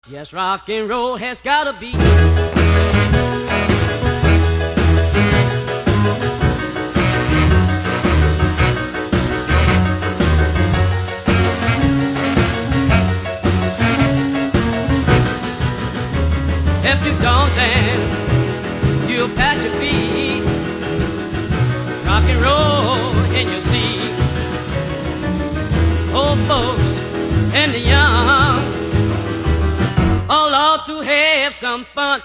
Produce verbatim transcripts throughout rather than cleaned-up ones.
Yes, rock and roll has gotta be. If you don't dance, you'll pat your feet. Rock and roll in your seat. Old folks and the young all ought to have some fun.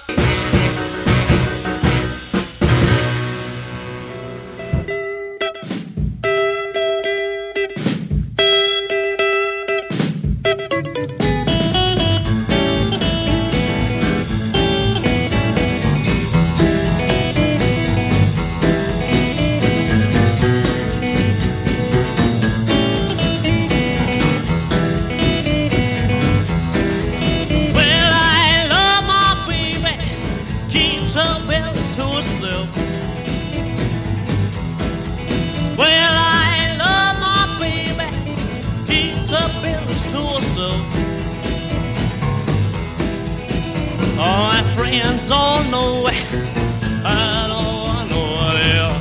Friends all know it. I know, I know they are.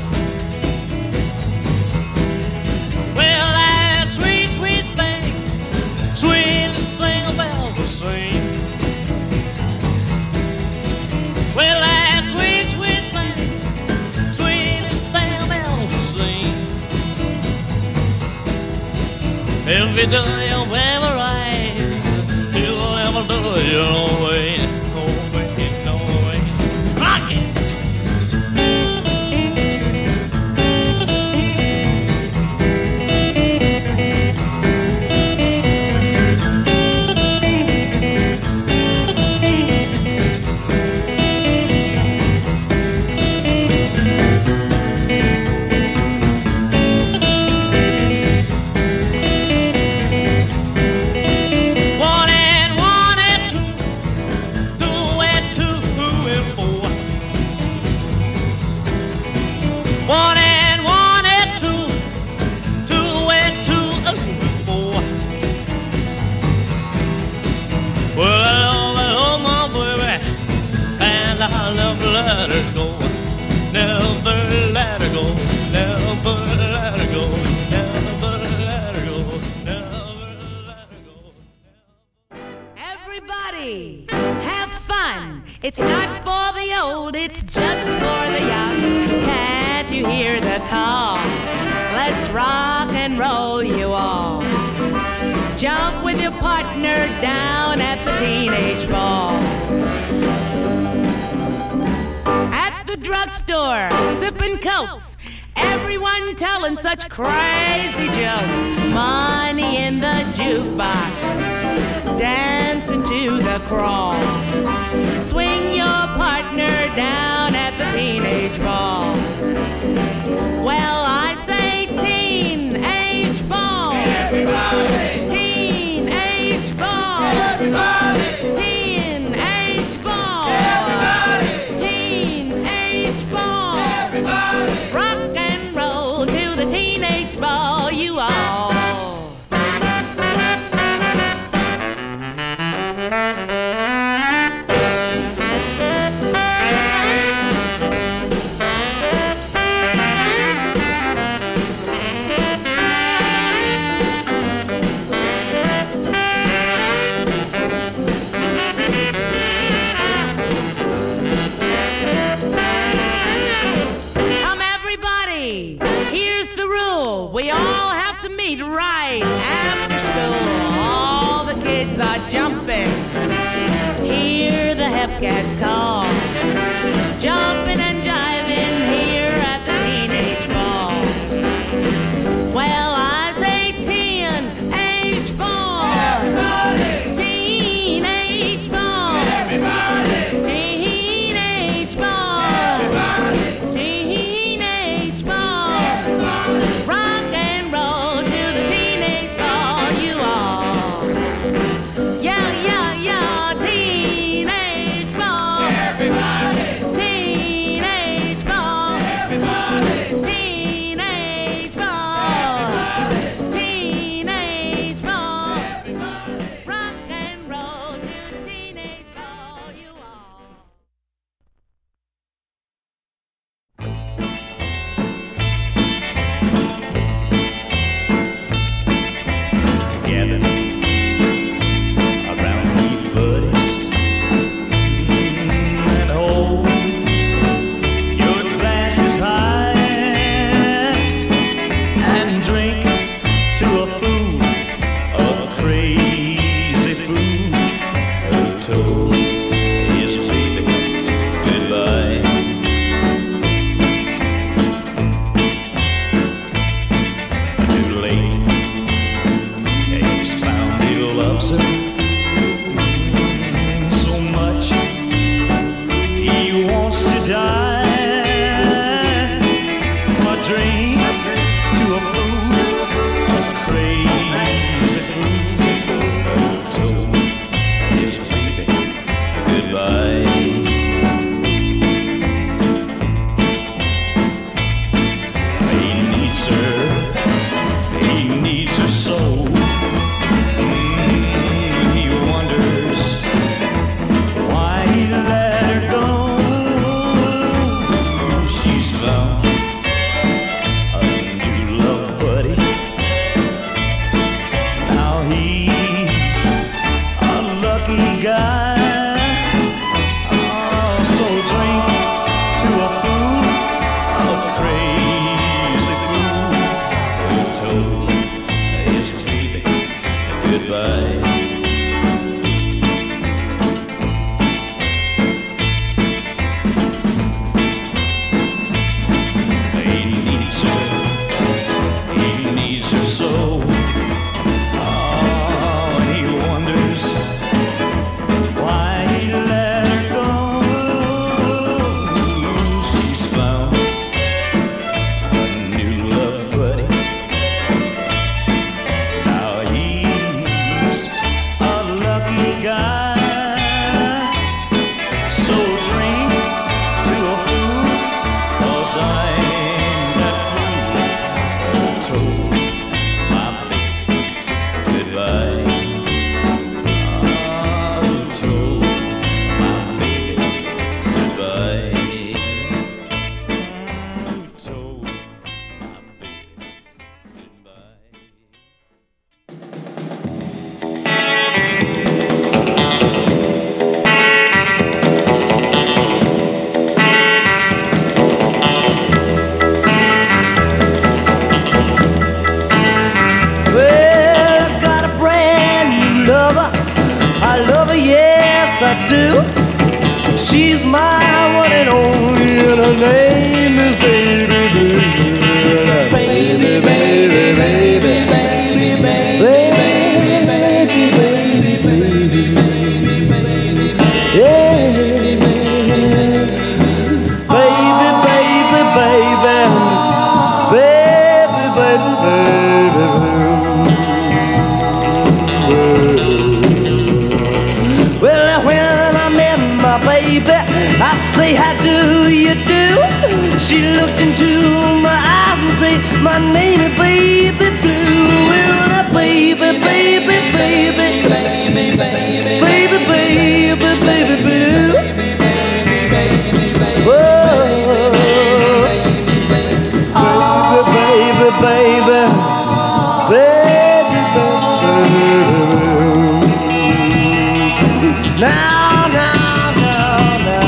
Well, that sweet, sweet thing, sweetest thing I've ever seen. Well, that sweet, sweet thing, sweetest thing I've ever seen. Every day you'll ever ride, you'll ever do your own way. It's not for the old, it's just for the young. Can't you hear the call? Let's rock and roll, you all. Jump with your partner down at the teenage ball. At the drugstore, sipping cokes, everyone telling such crazy jokes. Money in the jukebox, dancing to the crawl. Swing your partner down at the teenage ball. Well, I say teenage ball. Everybody. Teenage ball. Everybody. Teenage ball. Everybody. Teenage ball. Everybody. Rock and roll to the teenage ball, you all. guy. Oh, so drink to a fool, a crazy fool who told his baby goodbye. He needs her, he needs her so. Oh, and he wonders why he let her go. She's found a new love buddy. Now he's a lucky guy. So drink to a fool, 'cause I'm that fool who told my baby goodbye. Ah, who told my baby goodbye. Who told my baby goodbye. Well, I got a brand new lover. I love her, yes, I do. She's my one and only, and her name is Baby Blue. Baby, baby, baby, baby, baby, baby, baby, baby, yeah. Baby, baby, baby, baby, baby, baby. Well, when I met my baby, I say, how do you do? She looked into my eyes and say, my name is Baby Blue. Well, now baby, baby, baby, baby, baby, baby, baby, baby blue. Whoa, baby, baby, baby, baby, baby. Now, now, now, now.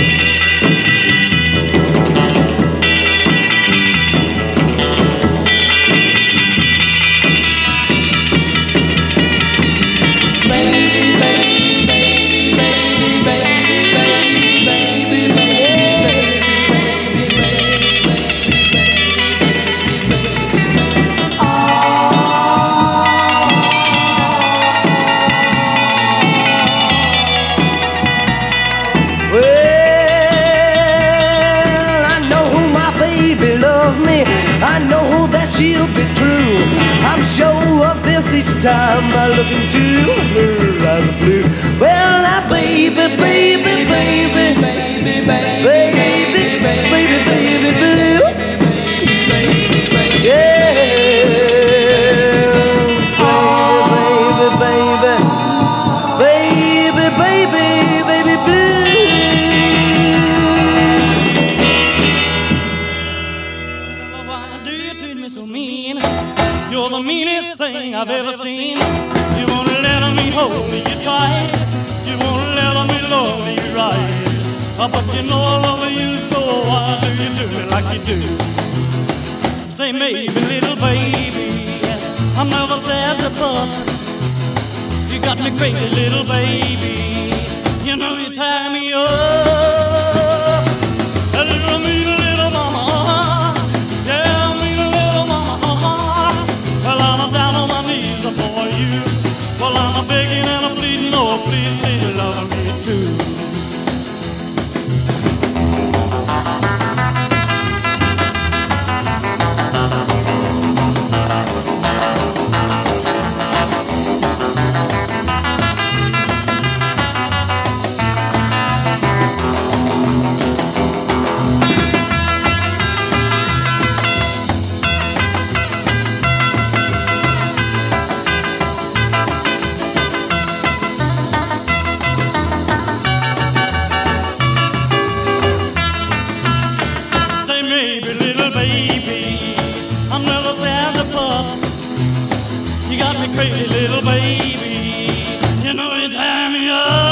Well, I know my baby loves me. I know that she'll be true. I'm sure of this each time I look into her eyes of blue. Well, now baby, baby, baby, baby, baby, baby, baby blue. Yeah, baby, baby, baby, baby, baby blue. Why do you treat me so mean? You're the meanest thing I've ever seen. You won't let me hold me tight. You won't let me love me right. Oh, but you know I love you, so why do you do me like you do? Say maybe, little baby, I'm never sad but you got me crazy, little baby. You know you tie me up. A little mean little mama. Yeah, mean little mama. Well, I'm down on my knees for you. Well, I'm begging and I'm pleading, oh, please, please love me too. Crazy little baby, you know you tie me up.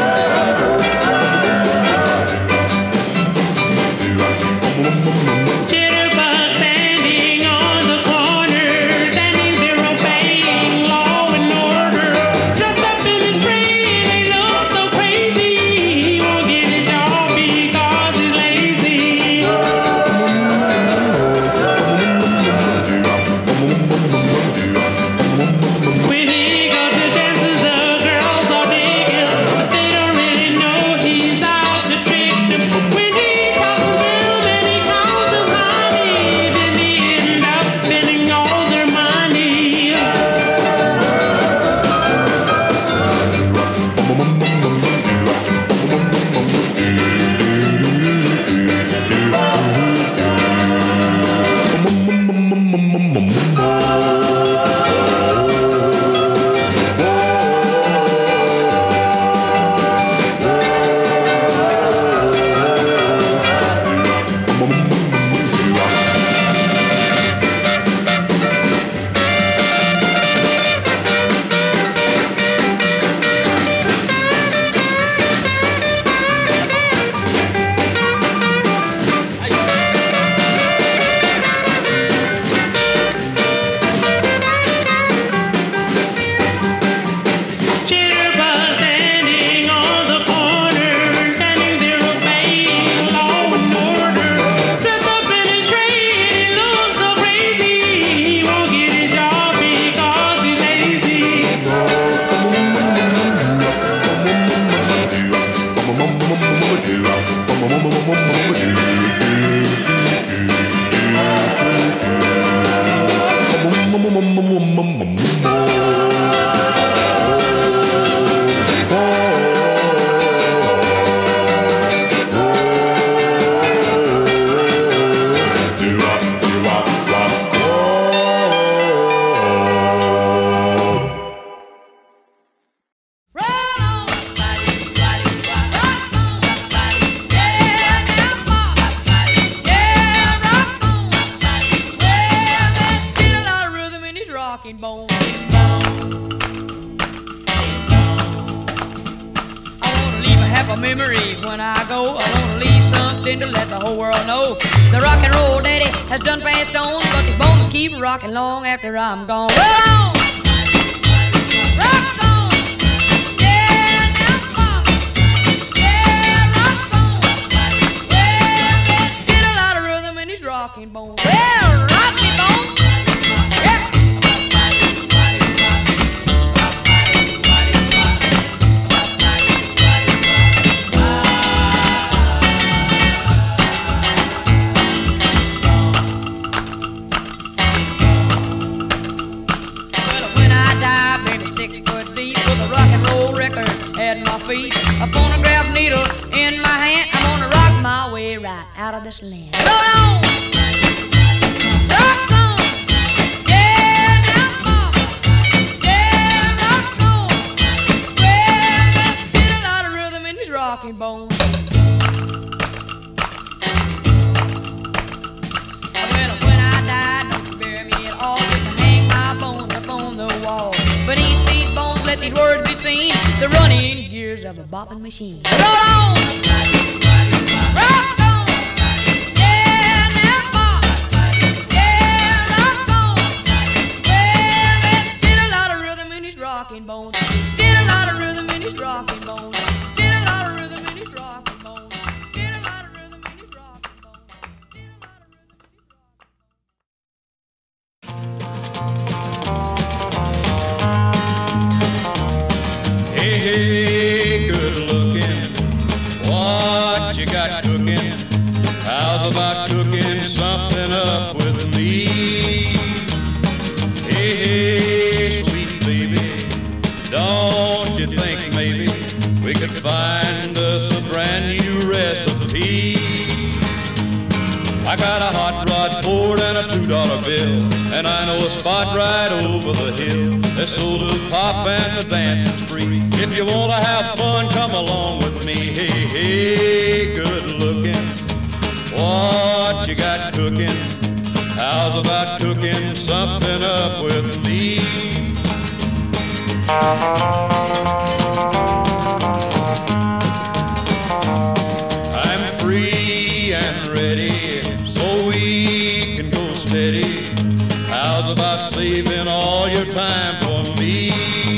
Jitterbug standing on the corner, standing there obeying law and order. Dressed up in his tree and he looks so crazy. He won't get a job because he's lazy. Rockin' long after I'm gone. Roll on! Rock on! Yeah, now on! Yeah, rock on! Well, there's still a lot of rhythm in these rocking bones. Well, rock me, bones! A phonograph needle in my hand. I'm gonna rock my way right out of this land. Roll on! Rock on! Yeah, now on! Yeah, rock on! Well, there's still a lot of rhythm in these rocking bones. Well, when I die, don't bury me at all. Just hang my bones up on the wall. Beneath these bones, let these words be seen. The running gears of a bopping machine. Roll on! Rock on! Yeah, now on! Yeah, rock on! Well, there's still a lot of rhythm in these rocking bones. Still a lot of rhythm in these rocking bones. Still a lot of rhythm in these rocking bones. Still a lot of rhythm in these rocking bones. Still a lot of rhythm in these rocking bones. Hey, hey, good looking, what you got cooking? How's about cooking something up with me? Hey, hey, sweet baby, don't you think maybe we could find us a brand new recipe? I got a hot rod Ford and a two dollar bill, and I know a spot right over the hill. That's sold to pop and the dancing's free. If you wanna have fun, come along with me. Hey, hey, good looking, what you got cooking? How's about cooking something up with me? I'm free and ready, so we can go steady. How's about saving all your time for me?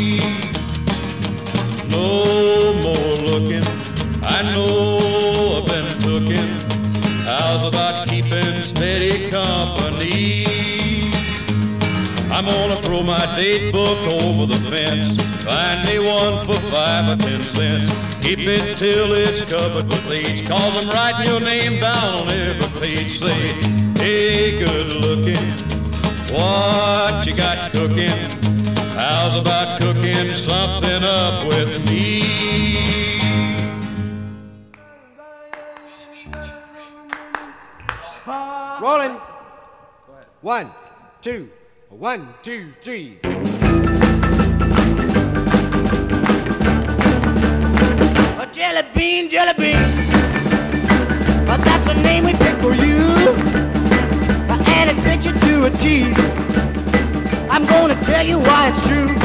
No more looking, I know I've been cooking. How's about keeping steady company? I'm gonna throw my date book over the fence. Find me one for five or ten cents. Keep it till it's covered with H, cause I'm writing your name down on every page. Say, hey, good looking, what you got cooking? How's about cooking something up with me? Rolling. One, two, one, two, three. A jelly bean, jelly bean. But that's a name we picked for you. And it fits you to a T. I'm gonna tell you why it's true.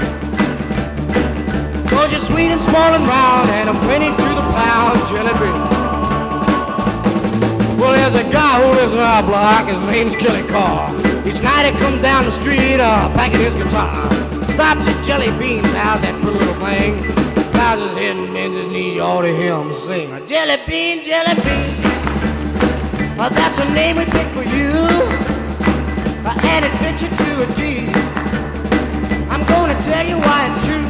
Cause you're sweet and small and round, and I'm plenty to the pound jelly bean. Well, there's a guy who lives in our block, his name's Kelly Carr. Each night he comes down the street, uh, packing his guitar. Stops at Jelly Bean's house, that pretty little thing. Bows his head and bends his knees, you ought to hear him sing. A Jelly Bean, Jelly Bean. Uh, that's a name we picked for you. Uh, and it fits you to a T. I'm gonna tell you why it's true.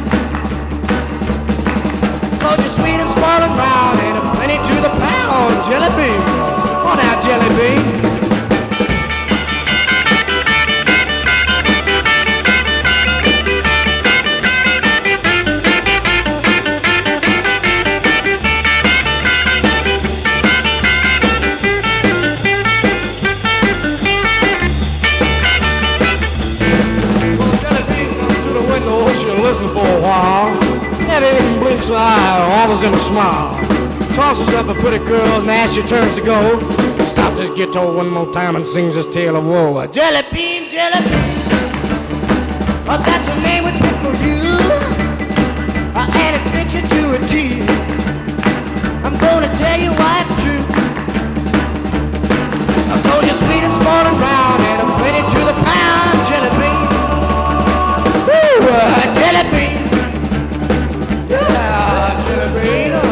Cause you're sweet and small and round, and a plenty to the pound, Jelly Bean. On out, Jelly Bean. dimples in a smile. Tosses up a pretty girl and as she turns to go, stops his guitar one more time and sings his tale of woe. Jelly bean, jelly bean, oh, that's a name we pick for you, uh, and it fits you to a T. I'm gonna tell you why it's true. I told you sweet and small and round, and I'm ready to the pound. Jelly bean, woo, uh, jelly bean, yeah, jelly bean. Uh.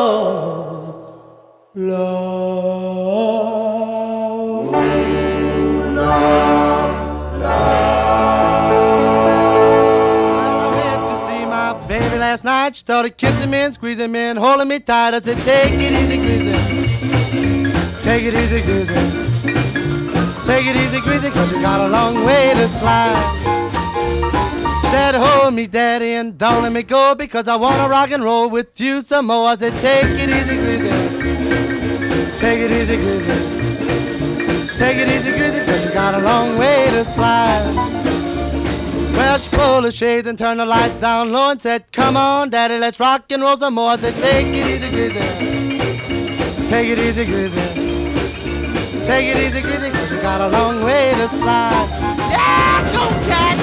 love, baby last night. She started kissing me and squeezing me and holding me tight. I said, take it easy, Greasy. Take it easy, Greasy. Take it easy, Greasy, cause you got a long way to slide. She said, hold me, Daddy, and don't let me go, because I wanna rock and roll with you some more. I said, take it easy, Greasy. Take it easy, Greasy. Take it easy, Greasy, cause you got a long way to slide. Well, she pulled the shades and turned the lights down low and said, come on, Daddy, let's rock and roll some more. I said, take it easy, Greasy. Take it easy, Greasy. Take it easy, Greasy, cause you got a long way to slide. Yeah, go, Cat!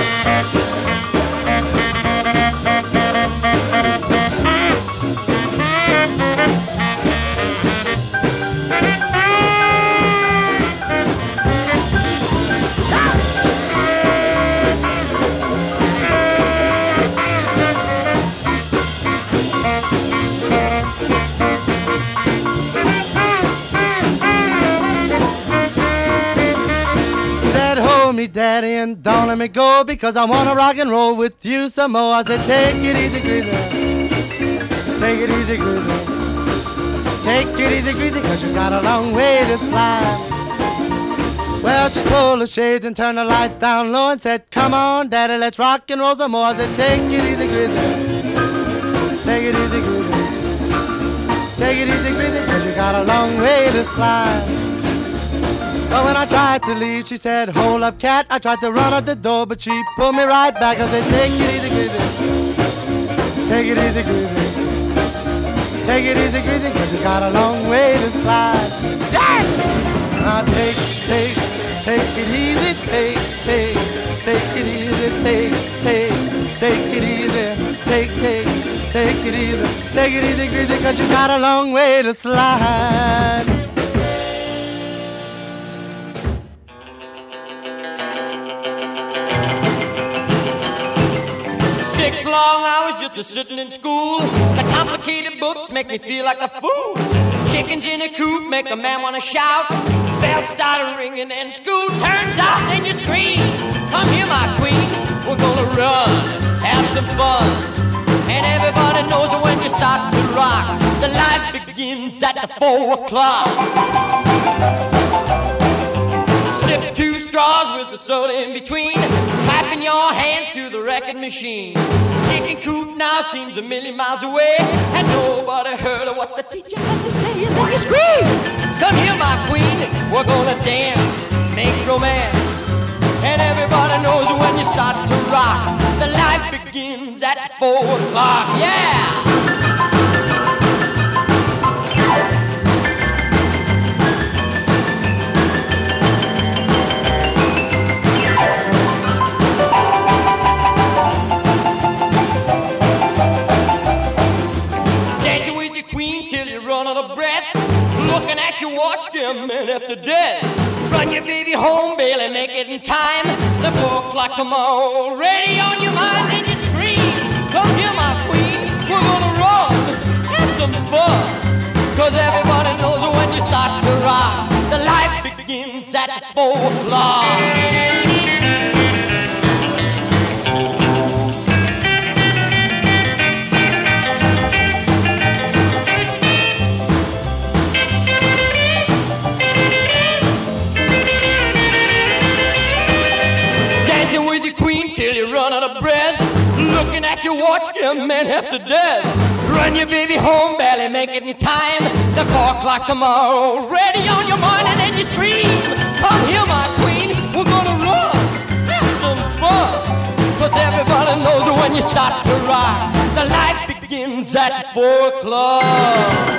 Me, Daddy, and don't let me go, because I wanna rock and roll with you some more. I said, take it easy, Greasy. Take it easy, Greasy. Take it easy, Greasy, cause you got a long way to slide. Well, she pulled the shades and turned the lights down low and said, come on, Daddy, let's rock and roll some more. I said, take it easy, Greasy. Take it easy, Greasy. Take it easy, Greasy, cause you got a long way to slide. But when I tried to leave, she said, hold up, Cat. I tried to run out the door, but she pulled me right back. I said, take it easy, Greasy. Take it easy, Greasy. Take it easy, Greasy, cause you got a long way to slide. Dad! Now take, take, take it easy, take, take, take it easy, take, take, take it easy, take, take, take it easy, take it easy, Greasy, cause you got a long way to slide. Six long hours just a sitting in school. The complicated books make me feel like a fool. Chickens in a coop make a man wanna shout. Bells start ringing and school turns out, then you scream. Come here, my queen, we're gonna run, have some fun. And everybody knows that when you start to rock, the life begins at the four o'clock. Sip two straws with the soda in between, clapping your hands to the record machine. Chicken coop now seems a million miles away, and nobody heard of what the teacher had to say. And then you scream, come here, my queen, we're gonna dance, make romance. And everybody knows when you start to rock, the life begins at four o'clock. Yeah! Looking at your watch, damn man after death. Run your baby home, Bailey, make it in time. The four o'clock tomorrow already on your mind, and you scream, come here, my queen, we're gonna run, have some fun. Cause everybody knows when you start to rock, the life begins at four o'clock. Looking at your watch, scare man half to death. Run your baby home, barely make it in time. The four o'clock tomorrow, already on your mind, and then you scream, come here, my queen, we're gonna run, have some fun. Cause everybody knows when you start to rock, the life begins at four o'clock.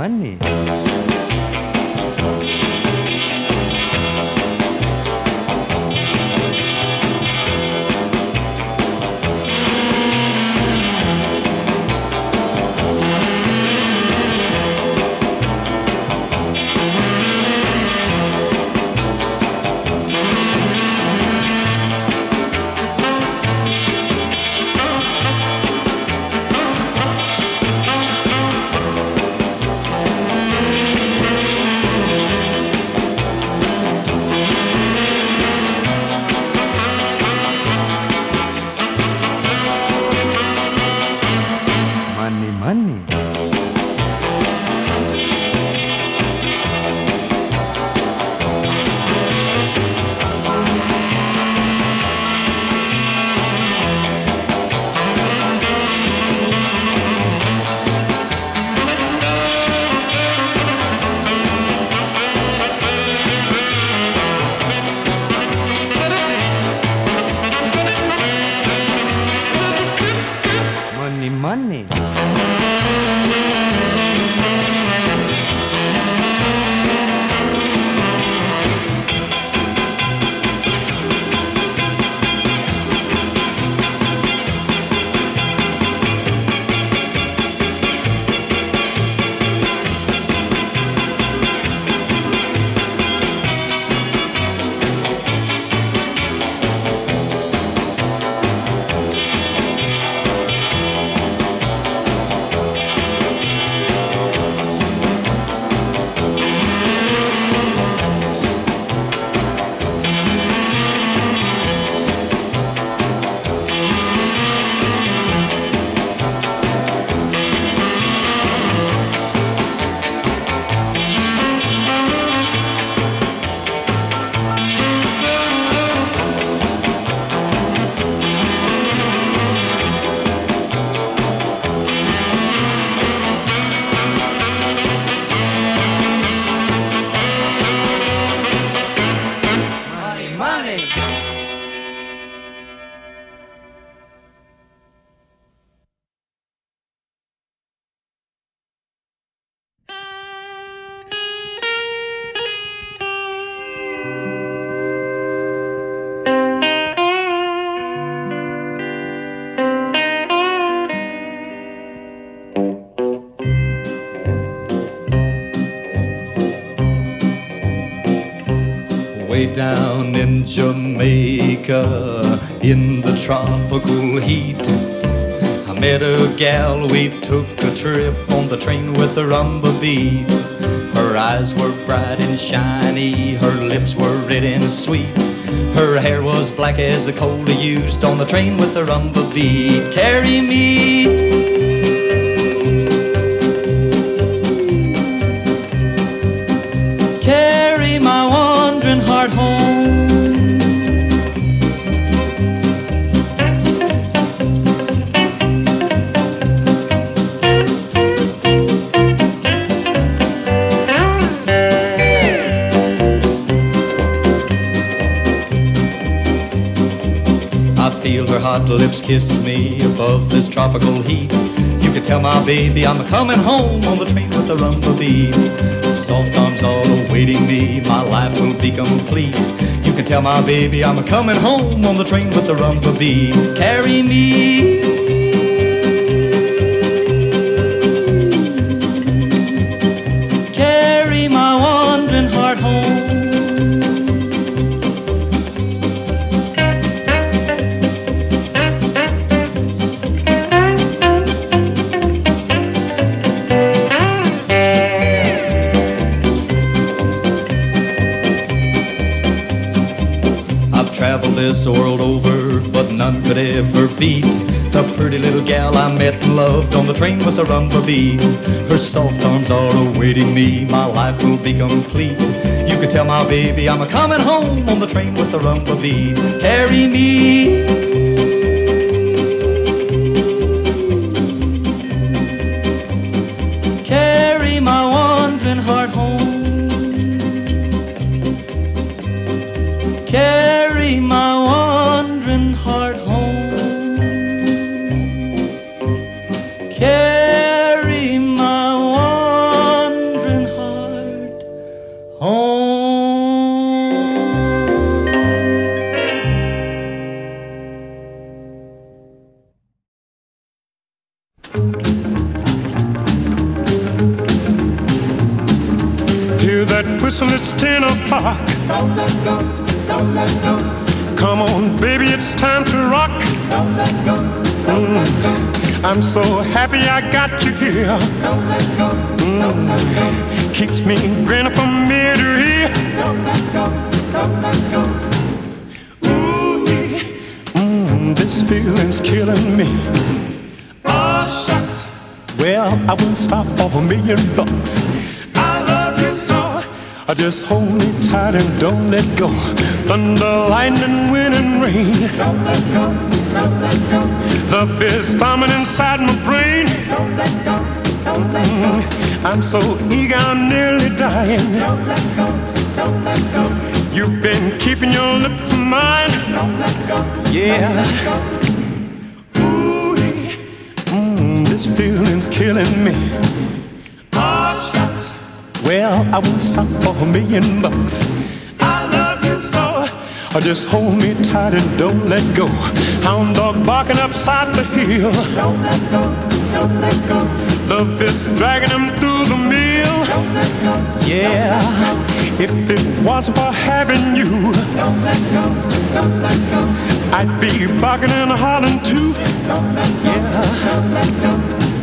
money. Way down in Jamaica, in the tropical heat, I met a gal, we took a trip on the train with a rumba beat. Her eyes were bright and shiny, her lips were red and sweet. Her hair was black as the coal they used on the train with a rumba beat. Carry me, carry my wandering heart home. I feel her hot lips kiss me above this tropical heat. You can tell my baby I'm coming home on the train with a rumba beat. Soft arms all awaiting me, my life will be complete. You can tell my baby I'm coming home on the train with the rumba beat. Carry me, carry my wandering heart home. Traveled this world over, but none could ever beat the pretty little gal I met and loved on the train with a rumba beat. Her soft arms are awaiting me, my life will be complete. You can tell my baby I'm a coming home on the train with a rumba beat. Carry me, carry my wandering heart home. Carry my wandering heart home. Carry my Hear that whistle, it's ten o'clock. Don't let go, don't let go. Come on, baby, it's time to rock. Don't let go, don't mm. let go. I'm so happy I got you here. Don't let go, don't let go. mm. Keeps me grinning from ear to ear. Don't let go, don't let go. Ooh, mm, this feeling's killing me. Oh, shucks. Well, I wouldn't stop for a million bucks. I love you so. Just hold me tight and don't let go. Thunder, lightning, wind and rain. Don't let go, don't let go. Love is bombing inside my brain. Don't let go, don't let go. Mm, I'm so eager, I'm nearly dying. Don't let go, don't let go. You've been keeping your lip from mine. Don't let go, yeah. Don't let go. Ooh, mm, this feeling's killing me. Oh, shucks. Well, I won't stop for a million bucks. I love you so. Or just hold me tight and don't let go. Hound dog barking upside the hill. Don't let go, don't let go. Love is dragging him through the mill. Don't let go, yeah. Don't let go. If it wasn't for having you, don't let go, don't let go. I'd be barking and hollering too. Don't let go, yeah. Don't let go.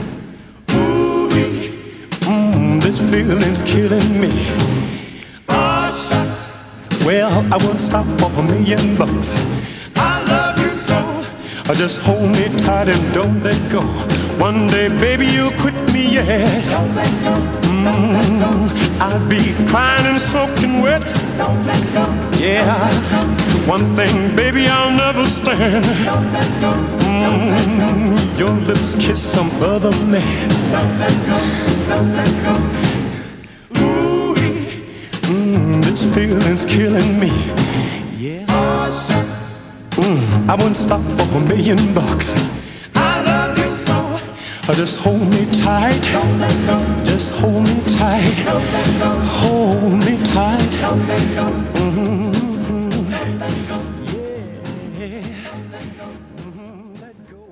This feeling's killing me. Oh, shucks. Well, I won't stop for a million bucks. I love you so. Or just hold me tight and don't let go. One day, baby, you'll quit me, yeah. Don't let go, mm, don't let go. I'll be crying and soaking wet. Don't let go, yeah. Don't let go. One thing, baby, I'll never stand. Don't let go, don't mm, let go. Your lips kiss some other man. Don't let go, don't let go. Ooh, mm, this feeling's killing me. Yeah. Oh, shucks. Mm, I won't stop for a million bucks. I love you so. Or just hold me tight. Don't let go. Just hold me tight. Don't let go. Hold me tight. Don't let go. Mm-hmm. Don't let go. Yeah. Don't let go. Mm-hmm. Let go.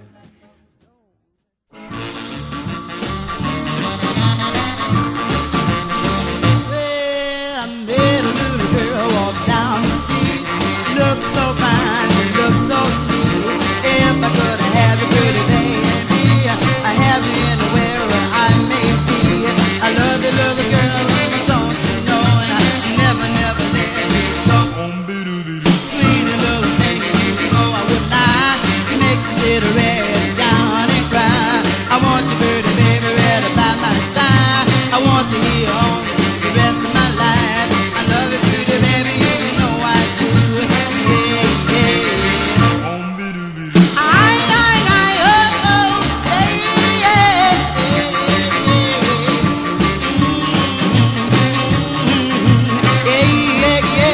Well, I met a little girl walk down the street. She looked so fine, she looked so sweet. If I could have a pretty baby, I have you anywhere I may be. I love you, little girl, don't you know? And I never, never let you go. Sweet little thing, you know I would lie. She makes me sit right down and cry. I want you, pretty baby, right by my side. I want you here on the rest of my life. I love you, pretty baby, you know I do. Yeah, yeah. I, I, I, oh, oh, yeah, yeah, yeah, yeah, yeah,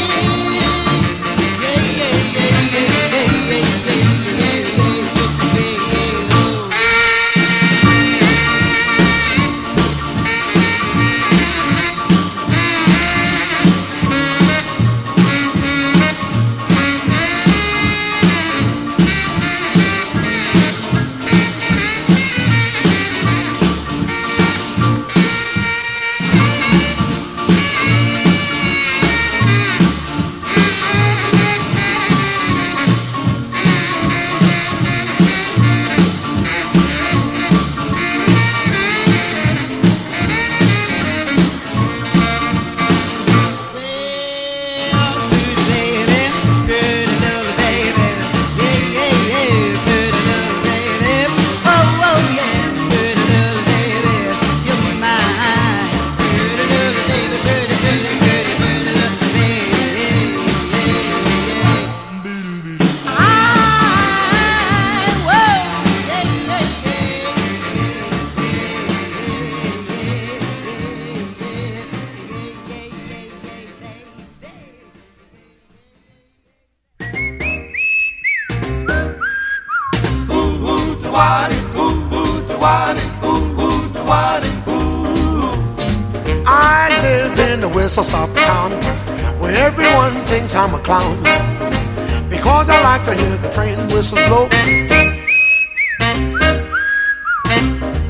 I live in a whistle-stop town where everyone thinks I'm a clown because I like to hear the train whistles blow.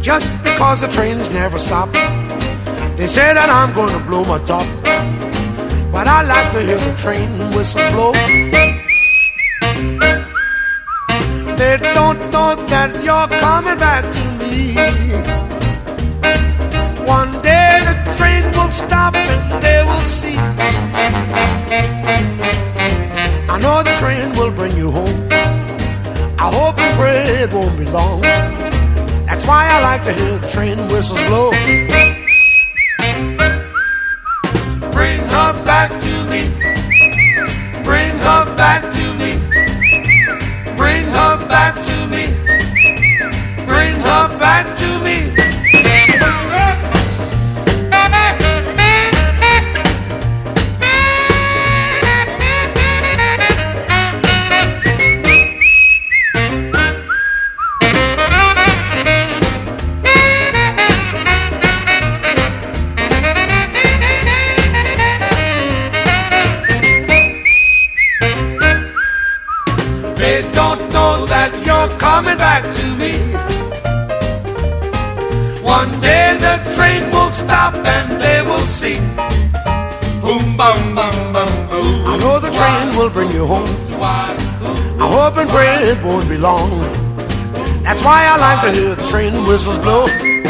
just because the trains never stop. They say that I'm gonna blow my top, but I like to hear the train whistles blow. They don't know that you're coming back to me. One day the train will stop and they will see. I know the train will bring you home. I hope and pray it won't be long. That's why I like to hear the train whistles blow. Bring her back to me. Bring her back to me. Bring her back to me. Bring her back to me. Coming back to me. One day the train will stop and they will see. Boom, bum, bum, bum, boom. I know the train will bring you home. I hope and pray it won't be long. That's why I like to hear the train whistles blow.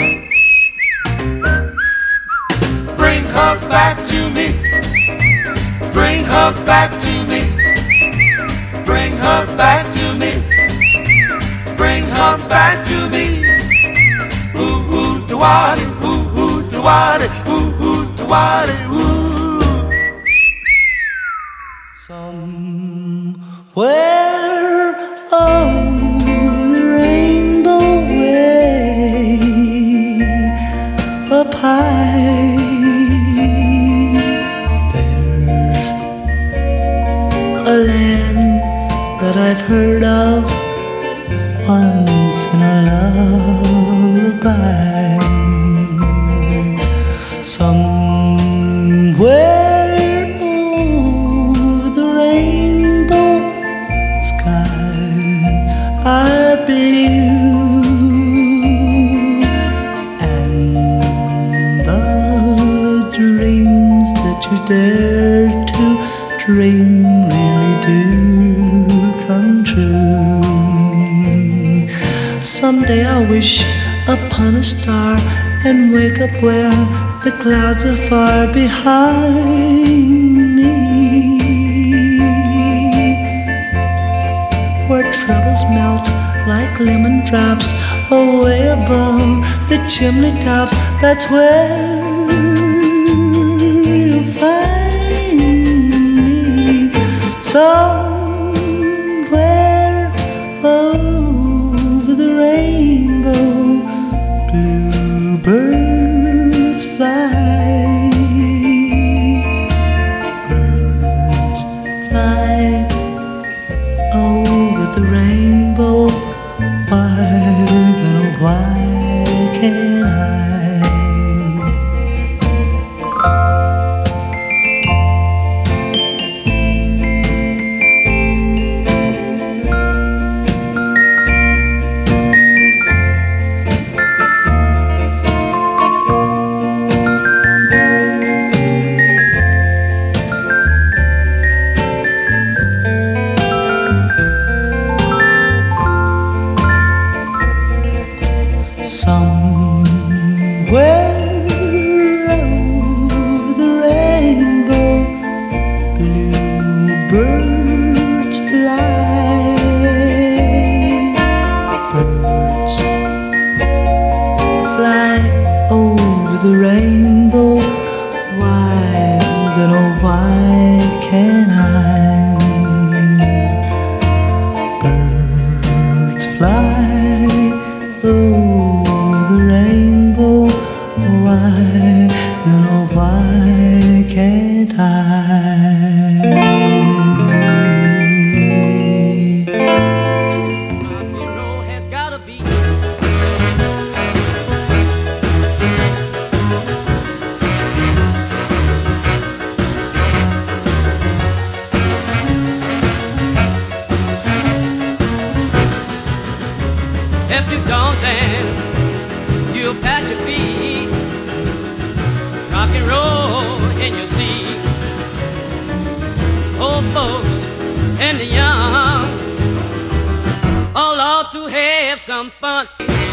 Bring her back to me. Bring her back to me. Bring her back to me. Bring her back to me. Ooh, ooh, do-wah-dee, ooh, ooh, do-wah-dee, ooh, ooh, do-wah-dee, ooh. Somewhere over the rainbow way up high, there's a land that I've heard of once in a lullaby. Somewhere over the rainbow sky are blue, and the dreams that you dare to dream really do come true. Someday I'll wish upon a star and wake up where the clouds are far behind me, where troubles melt like lemon drops away above the chimney tops. That's where you'll find me. Somewhere over the rainbow, bluebirds fly. Birds fly over the rainbow. Why, then why can't I? If you don't dance, you'll pat your feet, rock and roll in your seat. Old folks and the young all ought to have some fun.